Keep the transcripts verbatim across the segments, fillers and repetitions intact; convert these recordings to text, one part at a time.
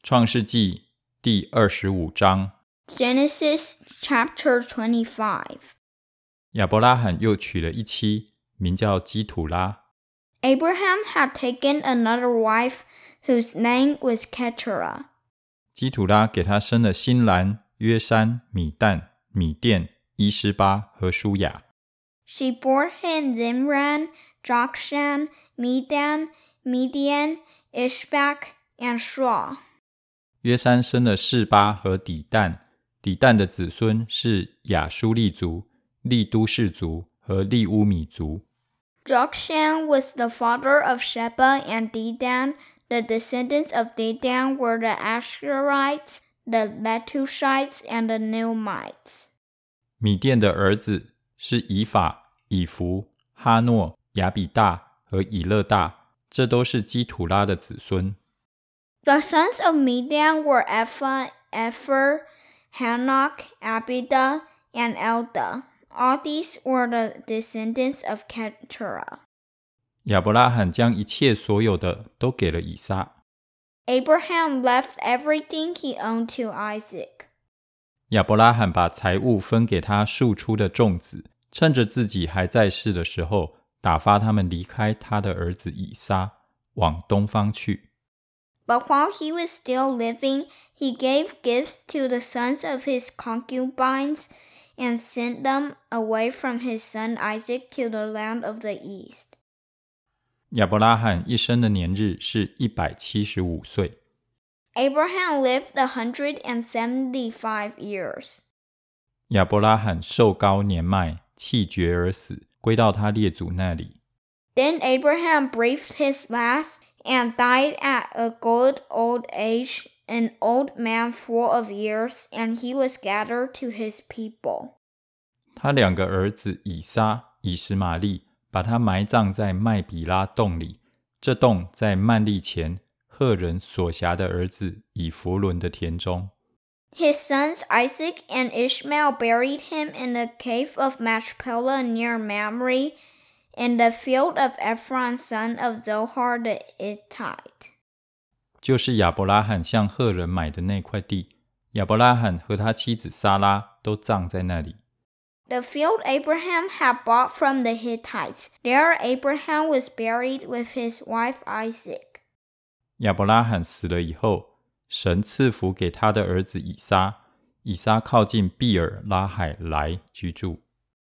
创世纪第二十五章 Genesis chapter twenty-five. 亚伯拉罕又娶了一妻，名叫基土拉。 Abraham had taken another wife, whose name was Keturah. 基土拉给他生了辛兰、约山、米旦、米甸、伊施巴和舒雅。 She bore him Zimran, Jokshan, Medan, Midian, Ishbak, and Shua. 约山生了示巴和底旦，底旦的子孙是亚舒利族、利都氏族和利乌米族。 Jokshan was the father of Sheba and Dedan. The descendants of Dedan were the Asherites, the Letushites, and the Neumites. 米甸的儿子是以法、以弗、哈诺、亚比大和以勒大，这都是基土拉的子孙。 The sons of Midian were Ephah, Epher, Hanok, Abida, and Elda. All these were the descendants of Keturah. 亚伯拉罕将一切所有的都给了以撒。 Abraham left everything he owned to Isaac. 亚伯拉罕把财物分给他庶出的众子，趁着自己还在世的时候，打发他们离开他的儿子以撒，往东方去。 But while he was still living, he gave gifts to the sons of his concubines and sent them away from his son Isaac to the land of the east. 亚伯拉罕一生的年日是一百七十五岁。 Abraham lived one hundred seventy-five years. 亚伯拉罕寿高年迈，气绝而死，归到他列祖那里。 Then Abraham breathed his last and died at a good old age, an old man full of years, and he was gathered to his people. 他两个儿子以撒、以实玛利把他埋葬在麦比拉洞里，这洞在曼利前赫人所辖的儿子以弗伦的田中。 His sons Isaac and Ishmael buried him in the cave of Machpelah near Mamre, in the field of Ephron son of Zohar the Hittite. 就是亚伯拉罕向赫人买的那块地，亚伯拉罕和他妻子撒拉都葬在那里。 The field Abraham had bought from the Hittites. There Abraham was buried with his wife Isaac. 亚伯拉罕死了以后，神赐福给他的儿子以撒，以撒靠近毕尔拉海来居住。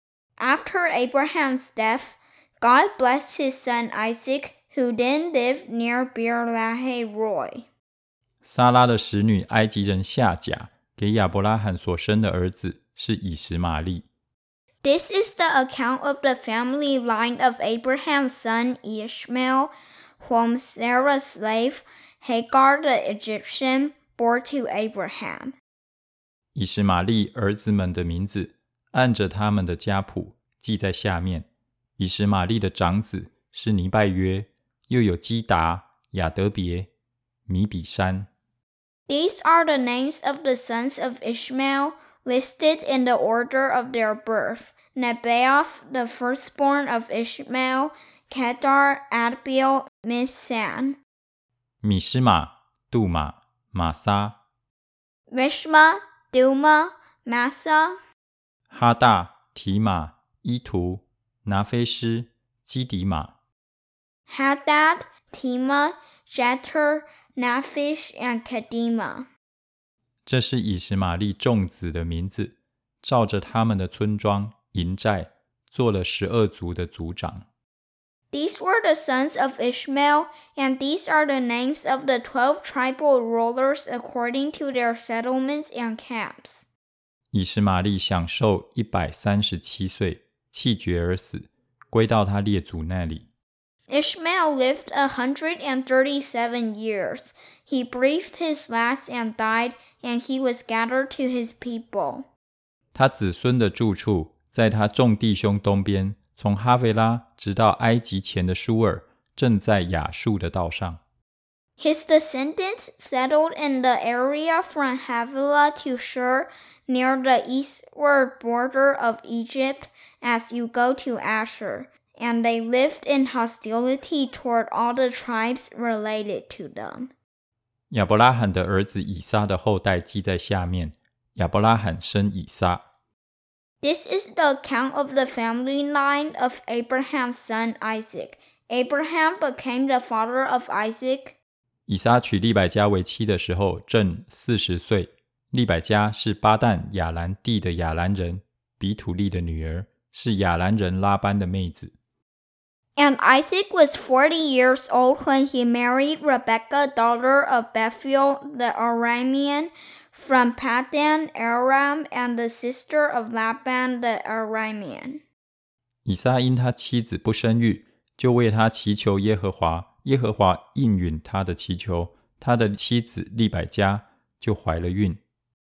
After Abraham's death, God blessed his son Isaac, who then lived near Beer-lahai-roi. 撒拉的使女埃及人夏甲给亚伯拉罕所生的儿子是以实玛利。 This is the account of the family line of Abraham's son Ishmael, whom Sarah's slave, Hagar the Egyptian, bore to Abraham. 以实玛利儿子们的名字按着他们的家谱记在下面。以实玛利的长子是尼拜约，又有基达、亚德别、米比山。 These are the names of the sons of Ishmael, listed in the order of their birth: Nebaioth, the firstborn of Ishmael, Kedar, Adbeel, Mibsam. 米施玛、杜玛、玛撒、 Mishma, Duma, Massa, 哈大、提玛、伊图、拿菲施、基底玛。 Hadad, Tema, Jeter, Naphish, and Kedema. 这是以实玛利众子的名字，照着他们的村庄、营寨，做了十二族的族长。 These were the sons of Ishmael, and these are the names of the twelve tribal rulers according to their settlements and camps. 以实玛利享受一百三十七岁，气绝而死，归到他列祖那里。 Ishmael lived a hundred and thirty-seven years. He breathed his last and died, and he was gathered to his people. 他子孙的住处在他众弟兄东边，从哈菲拉直到埃及前的舒尔，正在亚述的道上。 His descendants settled in the area from Havilah to Shur, near the eastward border of Egypt, as you go to Ashur. And they lived in hostility toward all the tribes related to them. 亚伯拉罕的儿子以撒的后代记在下面，亚伯拉罕生以撒。 This is the account of the family line of Abraham's son Isaac. Abraham became the father of Isaac. 以撒娶利百加为妻的时候正四十岁，利百加是巴旦亚兰地的亚兰人比土利的女儿，是亚兰人拉班的妹子。 And Isaac was forty years old when he married Rebekah, daughter of Bethuel the Aramean, from Paddan Aram, and the sister of Laban the Aramean. 以撒因他妻子不生育，就为他祈求耶和华，耶和华应允他的祈求，他的妻子利百加就怀了孕。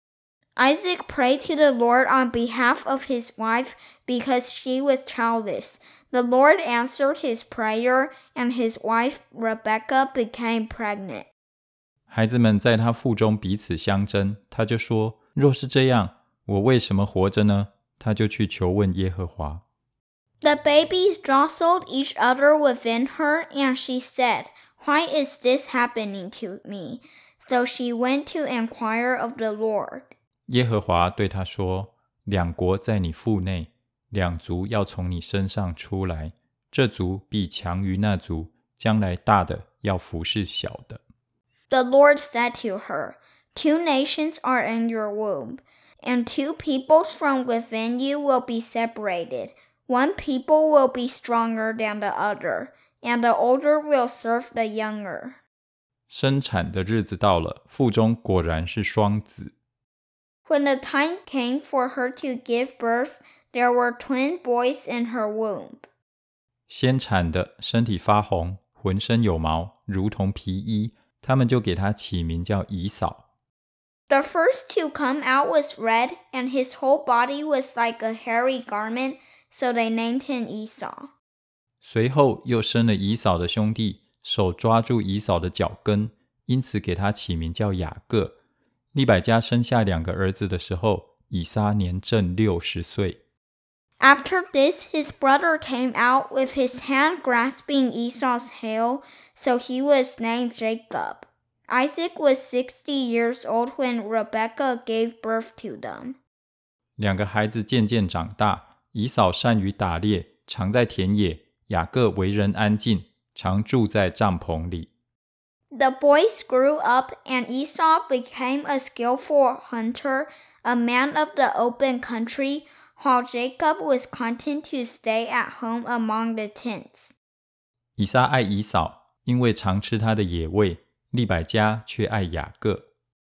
Isaac prayed to the Lord on behalf of his wife because she was childless. The Lord answered his prayer, and his wife Rebekah became pregnant. 孩子们在他腹中彼此相争，他就说：若是这样，我为什么活着呢？他就去求问耶和华。 The babies jostled each other within her, and she said, Why is this happening to me? So she went to inquire of the Lord. 耶和华对他说：两国在你腹内，两族要从你身上出来，这族必强于那族，将来大的要服侍小的。 The Lord said to her, Two nations are in your womb, and two peoples from within you will be separated. One people will be stronger than the other, and the older will serve the younger. 生产的日子到了，腹中果然是双子。 When the time came for her to give birth, there were twin boys in her womb. 先产的身体发红，浑身有毛，如同皮衣，他们就给他起名叫以扫。 The first to come out was red, and his whole body was like a hairy garment, so they named him Esau. 随后又生了以扫的兄弟，手抓住以扫的脚跟，因此给他起名叫雅各。利百加生下两个儿子的时候，以撒年正六十岁。 After this, his brother came out with his hand grasping Esau's heel, so he was named Jacob. Isaac was sixty years old when Rebekah gave birth to them. 两个孩子渐渐长大，以扫善于打猎，常在田野；雅各为人安静，常住在帐篷里。 The boys grew up, and Esau became a skillful hunter, a man of the open country, while Jacob was content to stay at home among the tents. 以撒爱以扫，因为常吃他的野味；利百加却爱雅各。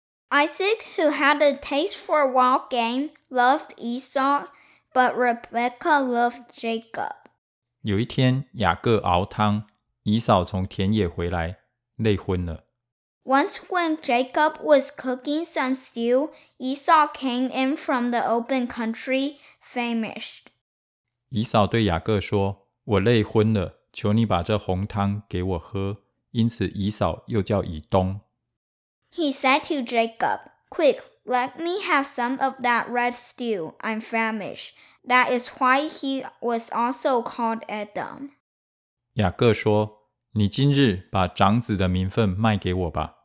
Isaac, who had a taste for wild game, loved Esau, but Rebekah loved Jacob. 有一天，雅各熬汤，以扫从田野回来，累昏了。 Once when Jacob was cooking some stew, Esau came in from the open country, famished. 以扫对雅各说：我累昏了，求你把这红汤给我喝。因此以扫又叫以东。 He said to Jacob, Quick, let me have some of that red stew. I'm famished. That is why he was also called Edom. 雅各说：你今日把长子的名分卖给我吧。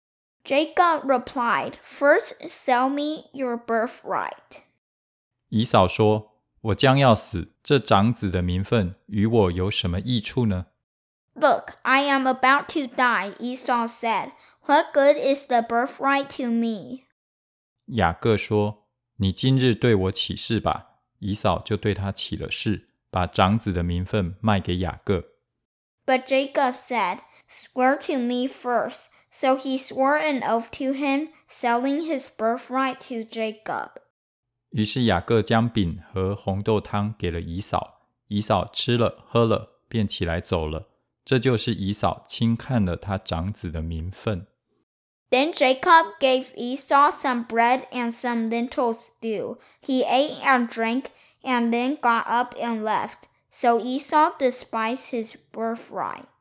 Jacob replied, First sell me your birthright. 以扫说：我将要死，这长子的名分与我有什么益处呢？ Look, I am about to die, Esau said. What good is the birthright to me? 雅各说：你今日对我起誓吧。以扫就对他起了誓，把长子的名分卖给雅各。 But Jacob said, Swear to me first. So he swore an oath to him, selling his birthright to Jacob. 于是雅各将饼和红豆汤给了以扫，以扫吃了喝了，便起来走了。这就是以扫轻看了他长子的名分。 Then Jacob gave Esau some bread and some lentil stew. He ate and drank, and then got up and left. So Esau despised his birthright.